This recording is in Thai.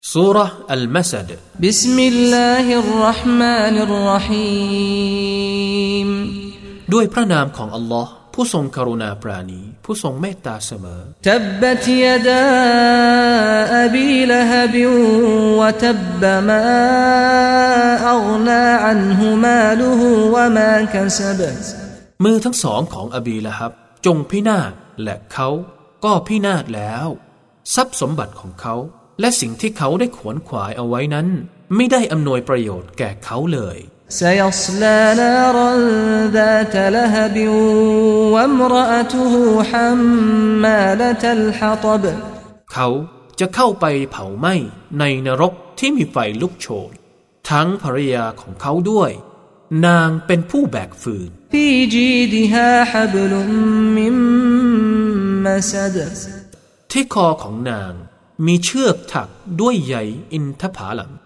ซูเราะห์อัลมัสดบิสมิลลาฮิรเราะห์มานิรเราะฮีมด้วยพระนามของอัลลอฮ์ผู้ทรงกรุณาปราณีผู้ทรงเมตตาเสมอตับบะตยะดาอะบีละฮบวะตับบะมาอัฆนาอันฮุมาลุฮุวะมากัซบมือทั้งสองของอบีละฮับจงพินาศและเขาก็พินาศแล้วทรัพย์สมบัติของเขาและสิ่งที่เขาได้ขวนขวายเอาไว้นั้นไม่ได้อำนวยประโยชน์แก่เขาเลย سيصلى نارا ذات لهب وامرأته حمالة الحطب เขาจะเข้าไปเผาไหม้ในนรกที่มีไฟลุกโชนทั้งภรรยาของเขาด้วยนางเป็นผู้แบกฟืน في جيدها حبل من مسد ที่คอของนางมีเชือกถักด้วยใยอินทผลัม